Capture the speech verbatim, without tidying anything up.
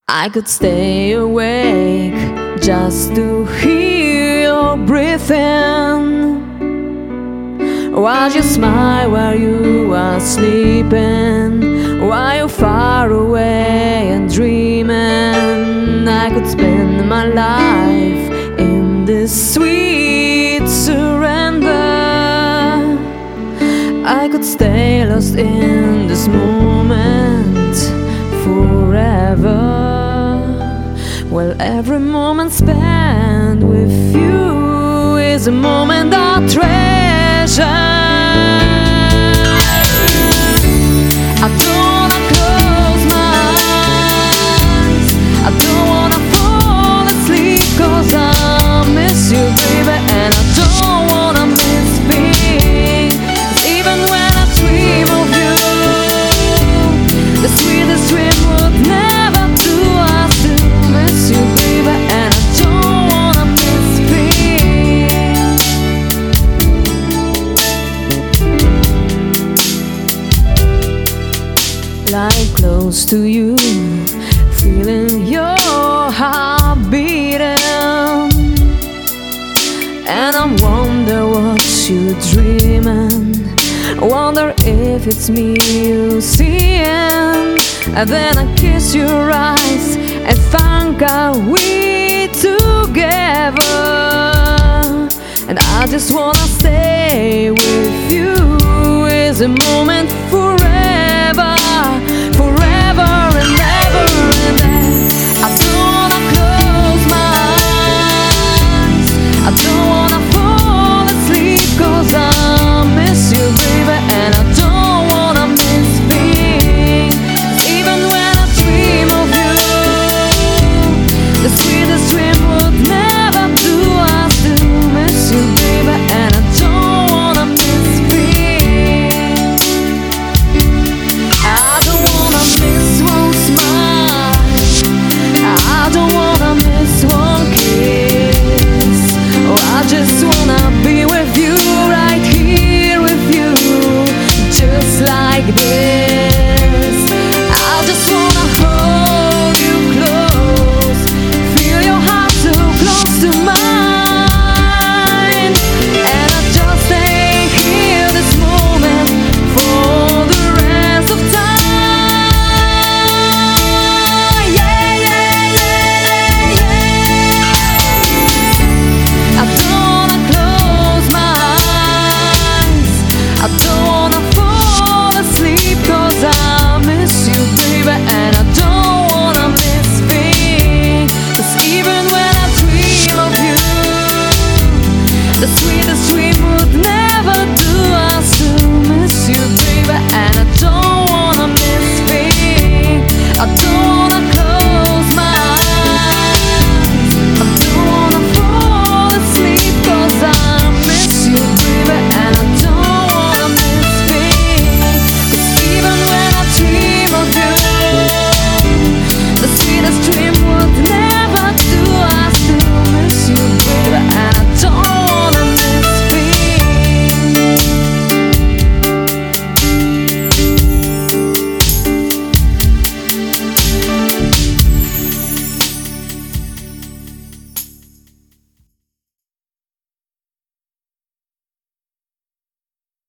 I could stay awake just to hear your breathing, while you smile while you are sleeping, while you're far away and dreaming. I could spend my life in this sweet surrender. I could stay lost in this moment forever. Well, every moment spent with you is a moment I treasure. I don't wanna close my eyes, I don't wanna fall asleep, 'cause I miss you, baby, and I don't wanna miss being. 'Cause even when I dream of you, the sweetest dream would never do. I still miss you, baby, and I don't wanna miss being. Lying close to you, feeling your heart beating, and I wonder what you're dreaming. Wonder if it's me you seeing. And then I kiss your eyes and think are we together. And I just wanna stay with you, is a moment forever.